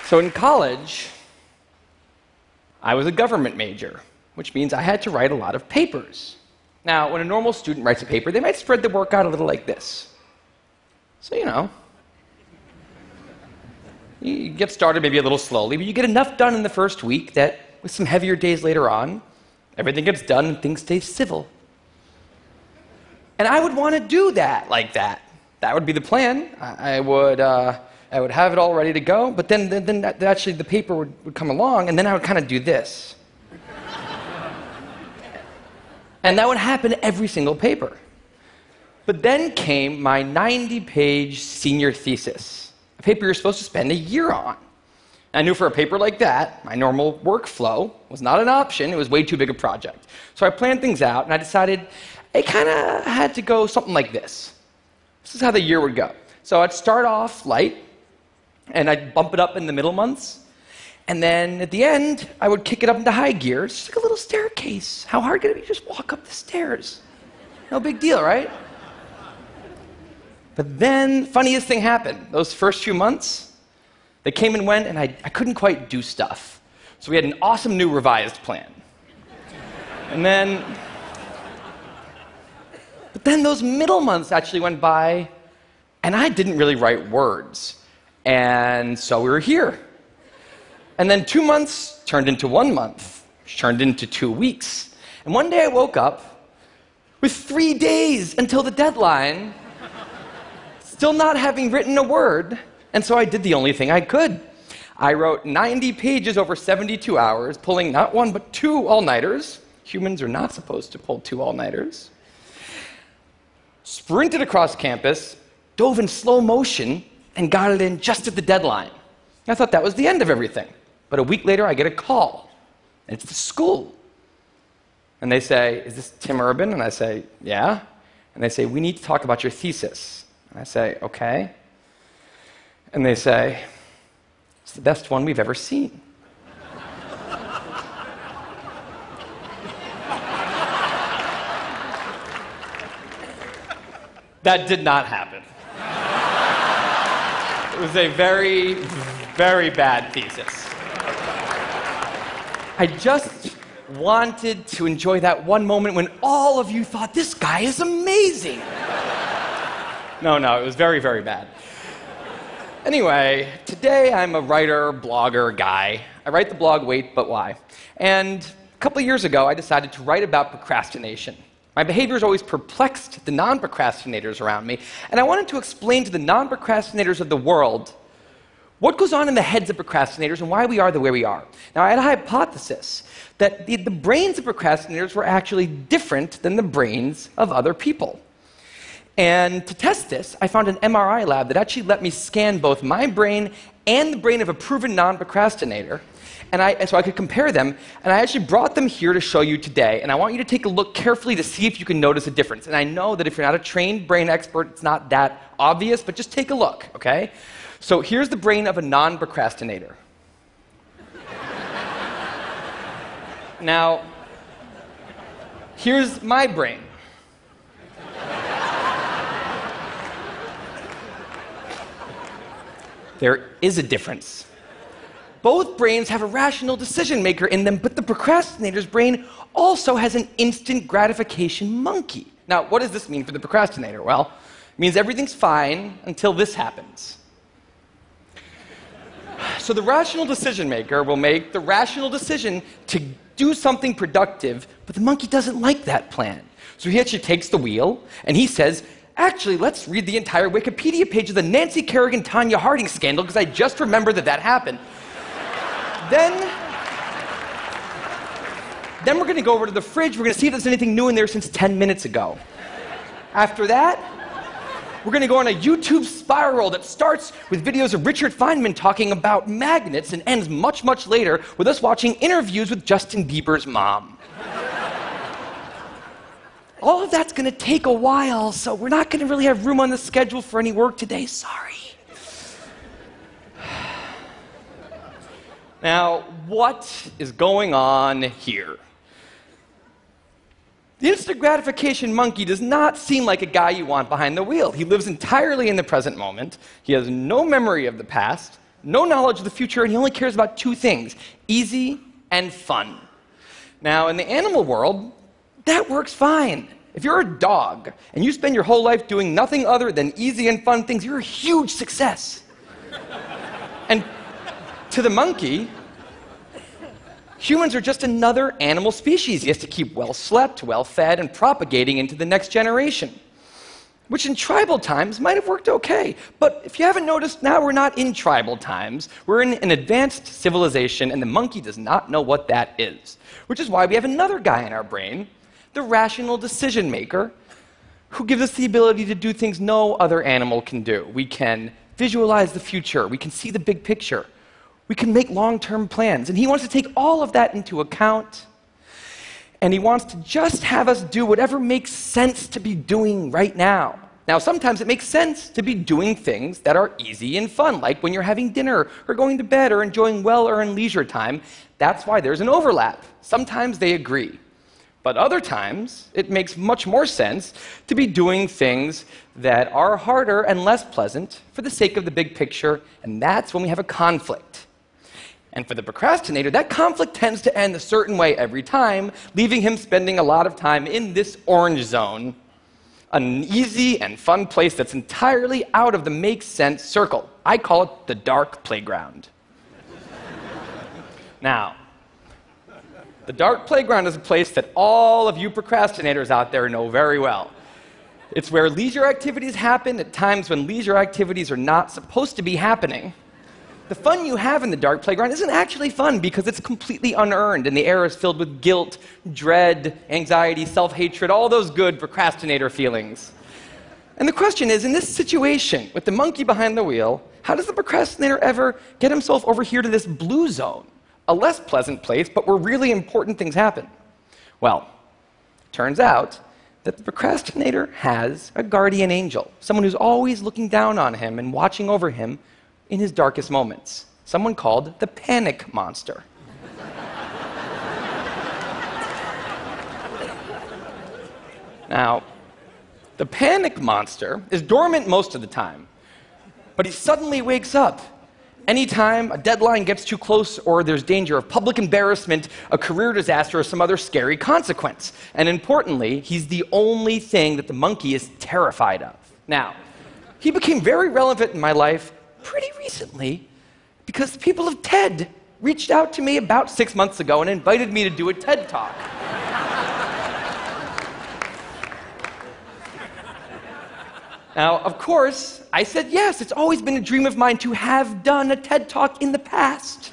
So in college, I was a government major, which means I had to write a lot of papers. Now, when a normal student writes a paper, they might spread the work out a little like this. So, you get started maybe a little slowly, but you get enough done in the first week that with some heavier days later on, everything gets done and things stay civil. And I would want to do that like that. That would be the plan. I would have it all ready to go, but then actually the paper would come along, and then I would kind of do this. And that would happen every single paper. But then came my 90-page senior thesis, a paper you're supposed to spend a year on. I knew for a paper like that, my normal workflow was not an option. It was way too big a project. So I planned things out, and I decided it kind of had to go something like this. This is how the year would go. So I'd start off light, and I'd bump it up in the middle months. And then at the end, I would kick it up into high gear. It's just like a little staircase. How hard could it be to just walk up the stairs? No big deal, right? But then, funniest thing happened. Those first few months, they came and went, and I couldn't quite do stuff. So we had an awesome new revised plan. But then those middle months actually went by, and I didn't really write words. And so we were here. And then 2 months turned into 1 month, which turned into 2 weeks. And one day I woke up with 3 days until the deadline, still not having written a word, and so I did the only thing I could. I wrote 90 pages over 72 hours, pulling not one but 2 all-nighters. Humans are not supposed to pull 2 all-nighters. Sprinted across campus, dove in slow motion, and got it in just at the deadline. I thought that was the end of everything. But a week later, I get a call. And it's the school. And they say, "Is this Tim Urban?" And I say, "Yeah." And they say, "We need to talk about your thesis." And I say, "Okay." And they say, "It's the best one we've ever seen." That did not happen. It was a very, very bad thesis. I just wanted to enjoy that one moment when all of you thought, "This guy is amazing." No, it was very, very bad. Anyway, today I'm a writer, blogger guy. I write the blog Wait, But Why? And a couple of years ago, I decided to write about procrastination. My behavior has always perplexed the non-procrastinators around me, and I wanted to explain to the non-procrastinators of the world what goes on in the heads of procrastinators and why we are the way we are. Now, I had a hypothesis that the brains of procrastinators were actually different than the brains of other people. And to test this, I found an MRI lab that actually let me scan both my brain and the brain of a proven non-procrastinator, so I could compare them, and I actually brought them here to show you today, and I want you to take a look carefully to see if you can notice a difference. And I know that if you're not a trained brain expert, it's not that obvious, but just take a look, okay? So here's the brain of a non-procrastinator. Now, here's my brain. There is a difference. Both brains have a rational decision maker in them, but the procrastinator's brain also has an instant gratification monkey. Now, what does this mean for the procrastinator? Well, it means everything's fine until this happens. So the rational decision maker will make the rational decision to do something productive, but the monkey doesn't like that plan. So he actually takes the wheel, and he says, "Actually, let's read the entire Wikipedia page of the Nancy Kerrigan-Tanya Harding scandal, because I just remembered that happened. Then we're going to go over to the fridge. We're going to see if there's anything new in there since 10 minutes ago. After that, we're going to go on a YouTube spiral that starts with videos of Richard Feynman talking about magnets and ends much, much later with us watching interviews with Justin Bieber's mom. All of that's going to take a while, so we're not going to really have room on the schedule for any work today. Sorry." Now, what is going on here? The instant gratification monkey does not seem like a guy you want behind the wheel. He lives entirely in the present moment. He has no memory of the past, no knowledge of the future, and he only cares about two things: easy and fun. Now, in the animal world, that works fine. If you're a dog and you spend your whole life doing nothing other than easy and fun things, you're a huge success. And to the monkey, humans are just another animal species he has to keep well slept, well fed, and propagating into the next generation, which in tribal times might have worked okay. But if you haven't noticed, now we're not in tribal times. We're in an advanced civilization, and the monkey does not know what that is, which is why we have another guy in our brain, the rational decision maker, who gives us the ability to do things no other animal can do. We can visualize the future. We can see the big picture. We can make long-term plans. And he wants to take all of that into account. And he wants to just have us do whatever makes sense to be doing right now. Now, sometimes it makes sense to be doing things that are easy and fun, like when you're having dinner or going to bed or enjoying well-earned leisure time. That's why there's an overlap. Sometimes they agree. But other times, it makes much more sense to be doing things that are harder and less pleasant for the sake of the big picture, and that's when we have a conflict. And for the procrastinator, that conflict tends to end a certain way every time, leaving him spending a lot of time in this orange zone, an easy and fun place that's entirely out of the makes sense circle. I call it the dark playground. Now, the dark playground is a place that all of you procrastinators out there know very well. It's where leisure activities happen at times when leisure activities are not supposed to be happening. The fun you have in the dark playground isn't actually fun because it's completely unearned, and the air is filled with guilt, dread, anxiety, self-hatred, all those good procrastinator feelings. And the question is, in this situation, with the monkey behind the wheel, how does the procrastinator ever get himself over here to this blue zone? A less pleasant place, but where really important things happen. Well, turns out that the procrastinator has a guardian angel, someone who's always looking down on him and watching over him in his darkest moments, someone called the panic monster. Now, the panic monster is dormant most of the time, but he suddenly wakes up anytime a deadline gets too close or there's danger of public embarrassment, a career disaster, or some other scary consequence. And importantly, he's the only thing that the monkey is terrified of. Now, he became very relevant in my life pretty recently because the people of TED reached out to me about 6 months ago and invited me to do a TED Talk. Now, of course, I said yes. It's always been a dream of mine to have done a TED Talk in the past.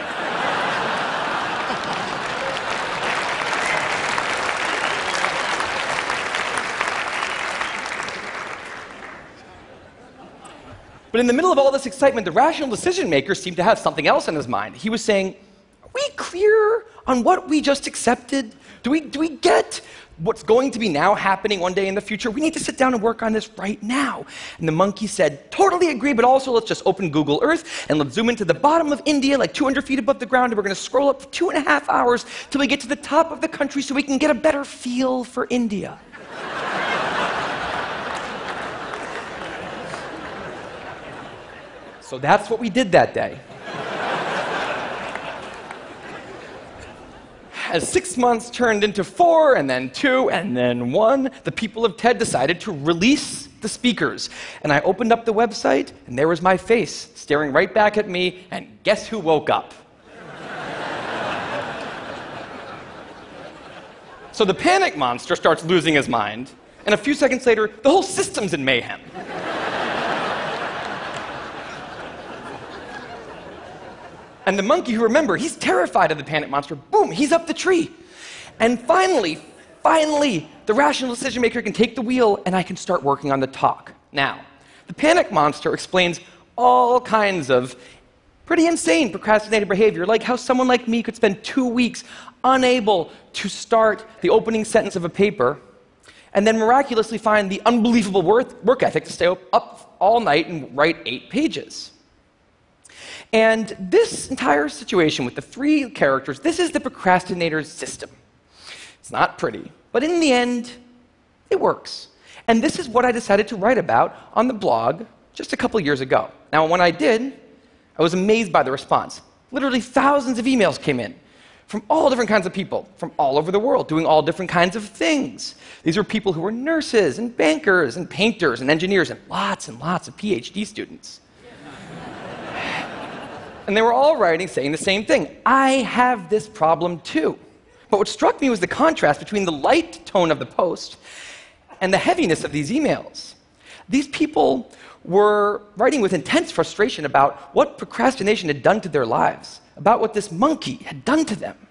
But in the middle of all this excitement, the rational decision maker seemed to have something else in his mind. He was saying, are we clear on what we just accepted? Do we get what's going to be now happening one day in the future? We need to sit down and work on this right now. And the monkey said, totally agree, but also let's just open Google Earth and let's zoom into the bottom of India, like 200 feet above the ground, and we're going to scroll up for 2.5 hours till we get to the top of the country so we can get a better feel for India. So that's what we did that day. As 6 months turned into 4, and then 2, and then 1, the people of TED decided to release the speakers. And I opened up the website, and there was my face staring right back at me, and guess who woke up? So the panic monster starts losing his mind, and a few seconds later, the whole system's in mayhem. And the monkey, who, remember, he's terrified of the panic monster, boom, he's up the tree. And finally, the rational decision maker can take the wheel and I can start working on the talk. Now, the panic monster explains all kinds of pretty insane procrastinating behavior, like how someone like me could spend 2 weeks unable to start the opening sentence of a paper and then miraculously find the unbelievable work ethic to stay up all night and write 8 pages. And this entire situation with the 3 characters, this is the procrastinator's system. It's not pretty, but in the end, it works. And this is what I decided to write about on the blog just a couple years ago. Now, when I did, I was amazed by the response. Literally thousands of emails came in from all different kinds of people, from all over the world, doing all different kinds of things. These were people who were nurses and bankers and painters and engineers and lots of PhD students. And they were all writing saying the same thing. I have this problem too. But what struck me was the contrast between the light tone of the post and the heaviness of these emails. These people were writing with intense frustration about what procrastination had done to their lives, about what this monkey had done to them.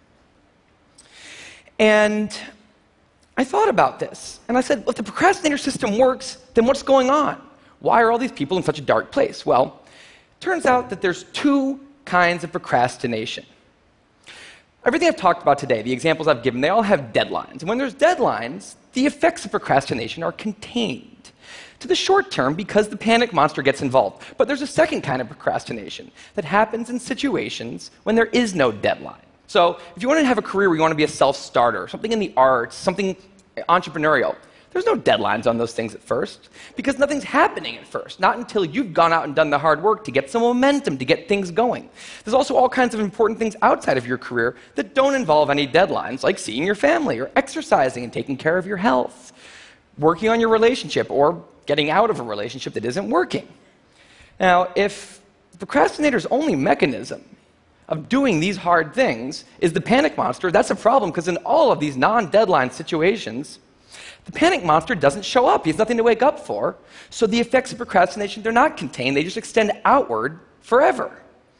And I thought about this, and I said, well, if the procrastinator system works, then what's going on? Why are all these people in such a dark place? Well, it turns out that there's two kinds of procrastination. Everything I've talked about today, the examples I've given, they all have deadlines. And when there's deadlines, the effects of procrastination are contained to the short term because the panic monster gets involved. But there's a second kind of procrastination that happens in situations when there is no deadline. So if you want to have a career where you want to be a self-starter, something in the arts, something entrepreneurial, there's no deadlines on those things at first because nothing's happening at first, not until you've gone out and done the hard work to get some momentum, to get things going. There's also all kinds of important things outside of your career that don't involve any deadlines, like seeing your family or exercising and taking care of your health, working on your relationship, or getting out of a relationship that isn't working. Now, if the procrastinator's only mechanism of doing these hard things is the panic monster, that's a problem because in all of these non-deadline situations, the panic monster doesn't show up. He has nothing to wake up for. So the effects of procrastination, they're not contained. They just extend outward forever.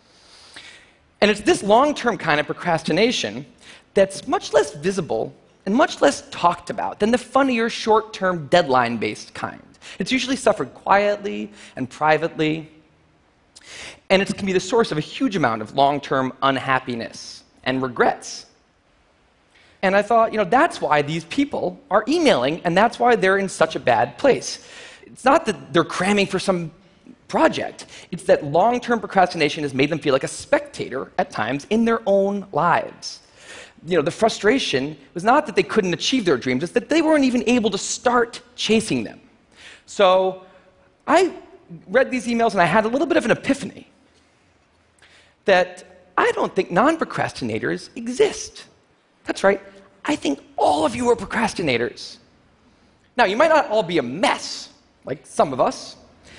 And it's this long-term kind of procrastination that's much less visible and much less talked about than the funnier, short-term, deadline-based kind. It's usually suffered quietly and privately, and it can be the source of a huge amount of long-term unhappiness and regrets. And I thought, that's why these people are emailing, and that's why they're in such a bad place. It's not that they're cramming for some project. It's that long-term procrastination has made them feel like a spectator at times in their own lives. The frustration was not that they couldn't achieve their dreams, it's that they weren't even able to start chasing them. So I read these emails and I had a little bit of an epiphany that I don't think non-procrastinators exist. That's right. I think all of you are procrastinators. Now, you might not all be a mess, like some of us.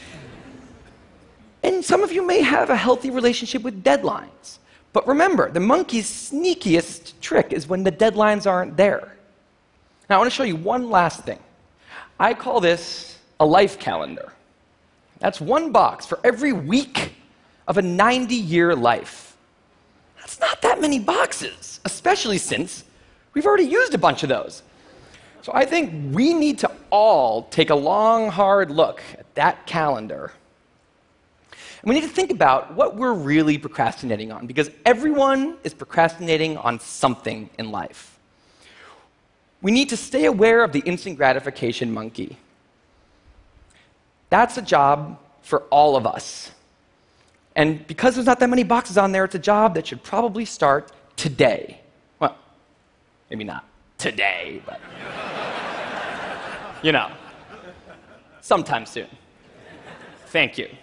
And some of you may have a healthy relationship with deadlines. But remember, the monkey's sneakiest trick is when the deadlines aren't there. Now, I want to show you one last thing. I call this a life calendar. That's one box for every week of a 90-year life. That's not that many boxes, especially since we've already used a bunch of those. So I think we need to all take a long, hard look at that calendar. And we need to think about what we're really procrastinating on, because everyone is procrastinating on something in life. We need to stay aware of the instant gratification monkey. That's a job for all of us. And because there's not that many boxes on there, it's a job that should probably start today. Well, maybe not today, but sometime soon. Thank you.